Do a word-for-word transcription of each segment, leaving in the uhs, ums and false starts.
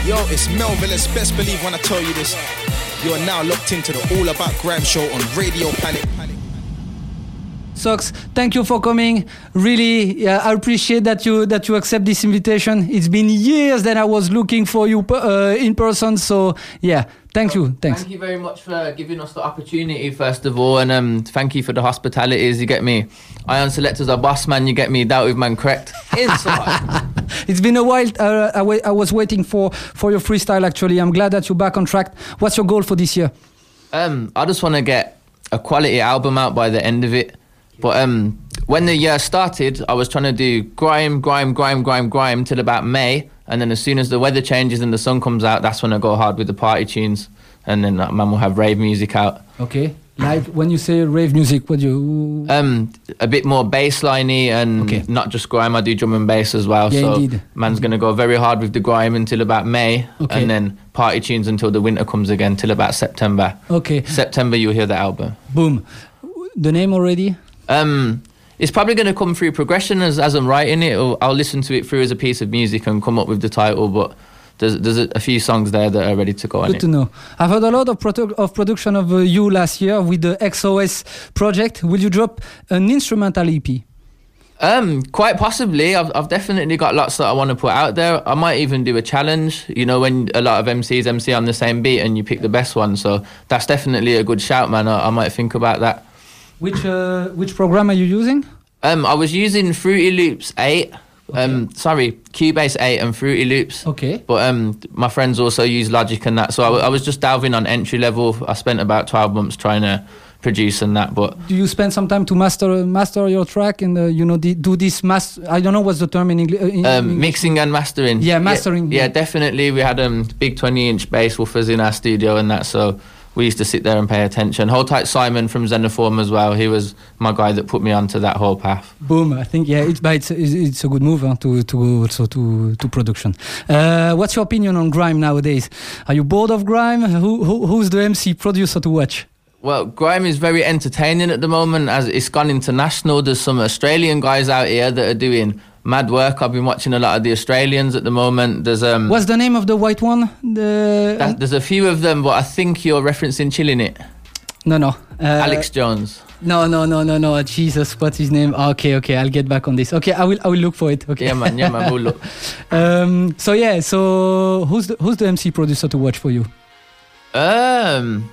Yo, it's Melville's best believe when I tell you this. You are now locked into the All About Grime show on Radio Panic. Sox, thank you for coming. Really, yeah, I appreciate that you that you accept this invitation. It's been years that I was looking for you uh, in person. So yeah, thank you. Thanks. Thank you very much for giving us the opportunity, first of all, and um, thank you for the hospitalities. You get me. Ion Selector's a boss man. You get me. That with man correct. Inside. It's been a while. Uh, I, w- I was waiting for for your freestyle. Actually, I'm glad that you're back on track. What's your goal for this year? Um, I just want to get a quality album out by the end of it. But um, when the year started, I was trying to do grime, grime, grime, grime, grime till about May. And then as soon as the weather changes and the sun comes out, that's when I go hard with the party tunes. And then uh, man will have rave music out. Okay. Like when you say rave music, what do you... Um, a bit more bassliney and okay. Not just grime. I do drum and bass as well. Yeah, so indeed. Man's going to go very hard with the grime until about May. Okay. And then party tunes until the winter comes again, till about September. Okay. September, you'll hear the album. Boom. The name already? Um, it's probably going to come through progression as as I'm writing it. Or I'll listen to it through as a piece of music and come up with the title. But there's there's a, a few songs there that are ready to go on it. Good to know. I've heard a lot of produ- of production of uh, you last year with the X O S project. Will you drop an instrumental E P? Um, quite possibly. I've I've definitely got lots that I want to put out there. I might even do a challenge. You know, when a lot of M Cs M C on the same beat and you pick the best one. So that's definitely a good shout, man. I, I might think about that. Which uh, which program are you using? Um, I was using Fruity Loops eight. Okay. Um, sorry, Cubase eight and Fruity Loops. Okay. But um, my friends also use Logic and that, so I, w- I was just delving on entry level. I spent about twelve months trying to produce and that. But do you spend some time to master master your track and uh, you know the, do this master? I don't know what's the term in, Engli- uh, in um, English. Mixing and mastering. Yeah, mastering. Yeah, yeah. yeah, definitely. We had um big twenty inch bass woofers in our studio and that, so we used to sit there and pay attention. Hold Tight Simon from Xenoform as well. He was my guy that put me onto that whole path. Boom! I think yeah, it's but it's, it's a good move huh, to to go also to to production. Uh, what's your opinion on grime nowadays? Are you bored of grime? Who, who who's the M C producer to watch? Well, grime is very entertaining at the moment as it's gone international. There's some Australian guys out here that are doing mad work. I've been watching a lot of the Australians at the moment. There's um. What's the name of the white one? The that, there's a few of them, but I think you're referencing Chillin' It. No, no. Uh, Alex Jones. No, no, no, no, no. Jesus, what's his name? Okay, okay. I'll get back on this. Okay, I will. I will look for it. Okay. Yeah, man. Yeah, man. We'll look. um. So yeah. So who's the who's the M C producer to watch for you? Um.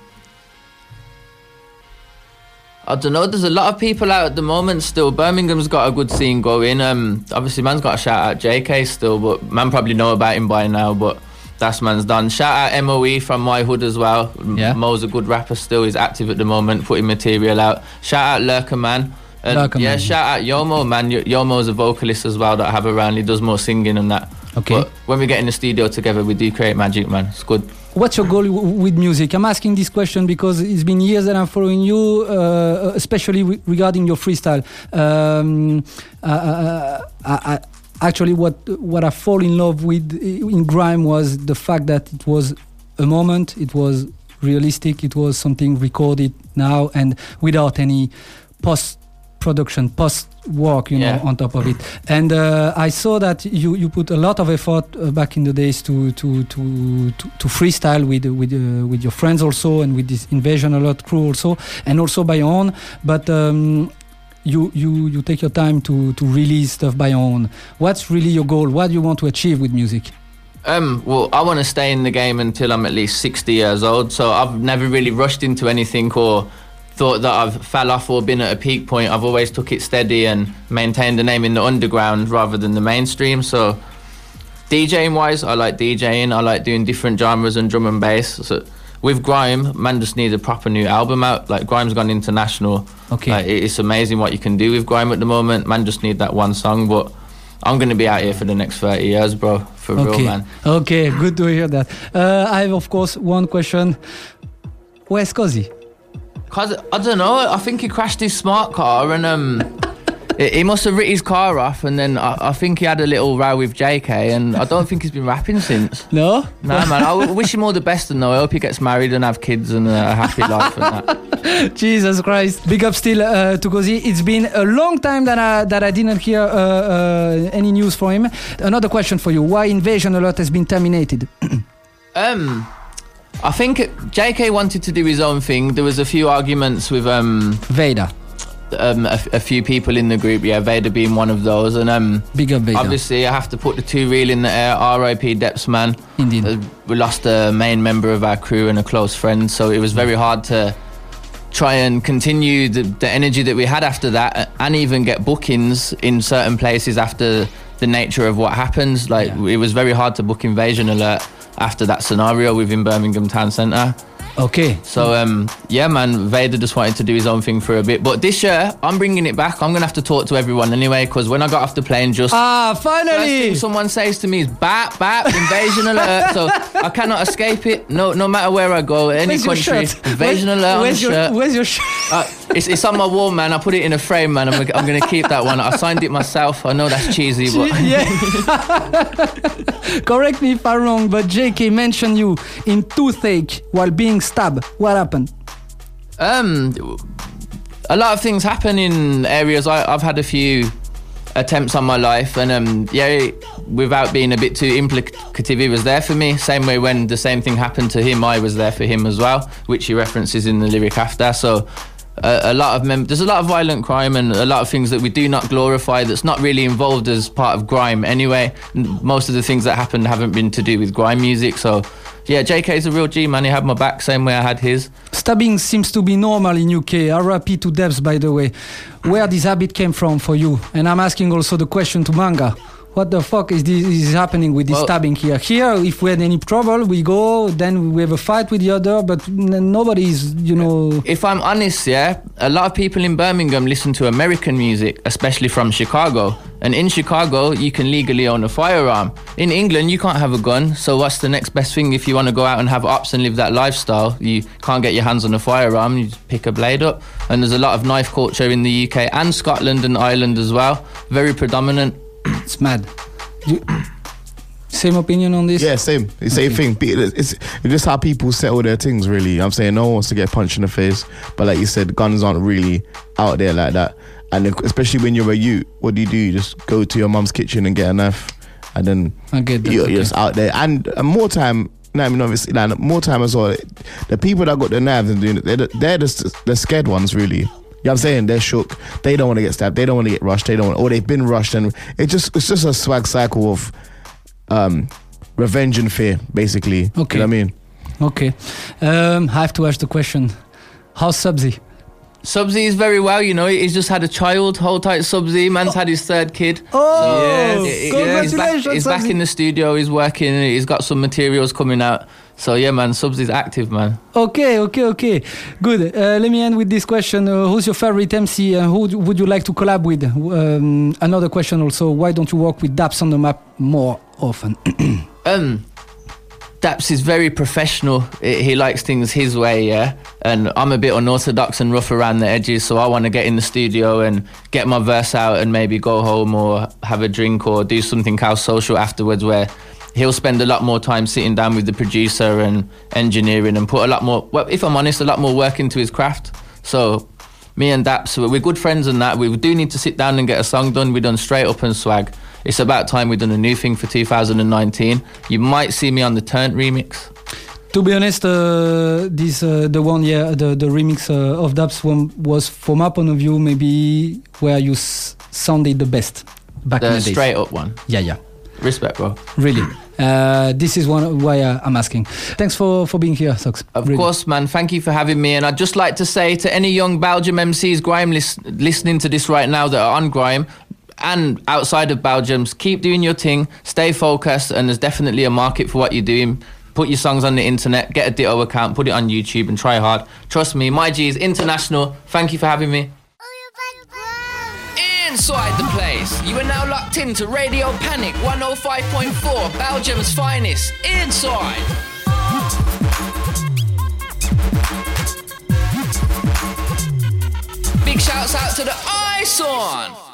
I don't know, there's a lot of people out at the moment still. Birmingham's got a good scene going. Um, obviously, man's got to shout out J K still, but man probably know about him by now, but that's man's done. Shout out M O E from my hood as well. Yeah. Mo's a good rapper still. He's active at the moment, putting material out. Shout out Lurker Man. And Lurker yeah, Man. shout out Yomo, man. Y- Yomo's a vocalist as well that I have around. He does more singing and that. Okay. But when we get in the studio together, we do create magic, man. It's good. What's your goal w- with music? I'm asking this question because it's been years that I'm following you, uh, especially w- regarding your freestyle. Um, uh, uh, I, I, actually, what what I fall in love with in grime was the fact that it was a moment, it was realistic, it was something recorded now and without any post production, post work, you Yeah. know, on top of it. And uh, I saw that you, you put a lot of effort uh, back in the days to to to to, to freestyle with with uh, with your friends also, and with this Invasion a lot crew also, and also by your own. But um, you you you take your time to to release stuff by your own. What's really your goal? What do you want to achieve with music? Um, well, I want to stay in the game until I'm at least sixty years old. So I've never really rushed into anything or thought that I've fell off or been at a peak point. I've always took it steady and maintained the name in the underground rather than the mainstream. So DJing wise, I like DJing. I like doing different genres and drum and bass. So with grime, man just needs a proper new album out. Like grime's gone international. Okay. Like, it's amazing what you can do with grime at the moment. Man just need that one song, but I'm going to be out here for the next thirty years, bro. For okay. real, man. Okay, good to hear that. Uh, I have, of course, one question. Where's Cozy? Cause I don't know. I think he crashed his smart car and um, He must have written his car off, and then I, I think he had a little row with J K, and I don't think he's been rapping since. No? Nah, man. I w- wish him all the best, and I hope he gets married and have kids and a happy life and that. Jesus Christ. Big up still uh, to Gozi. It's been a long time that I, that I didn't hear uh, uh, any news from him. Another question for you. Why Invasion Alert has been terminated? um... I think J K wanted to do his own thing. There was a few arguments with um, Vader. Um, a, a few people in the group, yeah, Vader being one of those. And um, Big up Vader. Obviously, I have to put the two reel in the air. R I P Depps, man. Indeed. Uh, we lost a main member of our crew and a close friend, so it was very hard to try and continue the, the energy that we had after that, and even get bookings in certain places after the nature of what happens. Like, yeah. It was very hard to book Invasion Alert after that scenario within Birmingham Town Centre. Okay. So, um, yeah, man, Vader just wanted to do his own thing for a bit. But this year, I'm bringing it back. I'm going to have to talk to everyone anyway, because when I got off the plane, just... Ah, finally! First thing someone says to me is, bap, bap, Invasion Alert. So I cannot escape it, no no matter where I go, any where's country. Invasion Where, Alert where's on the your, shirt. Where's your shirt? Uh, it's, it's on my wall, man. I put it in a frame, man. I'm, I'm going to keep that one. I signed it myself. I know that's cheesy, but... Yeah. Correct me if I'm wrong, but J K mentioned you in toothache while being stabbed. What happened? Um, a lot of things happen in areas. I, I've had a few attempts on my life, and um, yeah, without being a bit too implicative, he was there for me. Same way when the same thing happened to him, I was there for him as well, which he references in the lyric after. So uh, a lot of mem- there's a lot of violent crime and a lot of things that we do not glorify that's not really involved as part of grime anyway. Most of the things that happened haven't been to do with grime music, so yeah, J K's a real G, man. He had my back same way I had his. Stabbing seems to be normal in U K. R I P to Depps, by the way. Where this habit came from for you? And I'm asking also the question to Manga. What the fuck is this is happening with this well, stabbing here? Here, if we had any trouble, we go, then we have a fight with the other, but n- nobody's, you know... If I'm honest, yeah, a lot of people in Birmingham listen to American music, especially from Chicago. And in Chicago, you can legally own a firearm. In England, you can't have a gun, so what's the next best thing if you want to go out and have ops and live that lifestyle? You can't get your hands on a firearm, you just pick a blade up. And there's a lot of knife culture in the U K and Scotland and Ireland as well. Very predominant. It's mad. You, same opinion on this? Yeah, same. The same okay. thing. It's, it's just how people settle their things, really. I'm saying no one wants to get punched in the face, but like you said, guns aren't really out there like that. And especially when you're a youth, what do you do? You just go to your mum's kitchen and get a knife, and then I get that, you're, okay. you're just out there. And, and more time, no, I mean, obviously, like, more time as well. The people that got the knives and doing it, they're, they're the, the scared ones, really. You know what I'm saying? They're shook. They don't want to get stabbed. They don't want to get rushed. They don't want, or they've been rushed, and it just it's just a swag cycle of um, revenge and fear, basically. Okay. You know what I mean? Okay. Um, I have to ask the question. How's Subsy? Subsy is very well, you know. He's just had a child. Hold tight, Subsy. Man's had his third kid. Oh, yeah, congratulations, he's back, he's back in the studio. He's working. He's got some materials coming out. So yeah, man, Subsy's active, man. Okay, okay, okay. Good. Uh, let me end with this question. Uh, who's your favorite M C and who would you like to collab with? Um, another question also. Why don't you work with Dapps on the map more often? um, Dapps is very professional. He likes things his way, yeah. And I'm a bit unorthodox and rough around the edges, so I want to get in the studio and get my verse out and maybe go home or have a drink or do something else social afterwards where he'll spend a lot more time sitting down with the producer and engineering and put a lot more, well, if I'm honest, a lot more work into his craft. So me and Dapps, we're good friends and that. We do need to sit down and get a song done. We've done Straight Up and Swag. It's about time we've done a new thing for two thousand nineteen. You might see me on the Turnt remix. To be honest, uh, this uh, the one, yeah, the, the remix uh, of Dapps one was, from my point of view, maybe where you s- sounded the best back the in the days. Straight Up one? Yeah, yeah. Respect, bro. Really. Uh, this is one why uh, I'm asking. Thanks for, for being here, Socks. Of really. course, man. Thank you for having me. And I'd just like to say to any young Belgium M Cs, grime lis- listening to this right now that are on grime and outside of Belgium, keep doing your thing, stay focused, and there's definitely a market for what you're doing. Put your songs on the internet, get a Ditto account, put it on YouTube and try hard. Trust me, my G is international. Thank you for having me. Inside the place, you are now locked into Radio Panic one oh five point four, Belgium's finest. Inside. Big shouts out to the I S O N.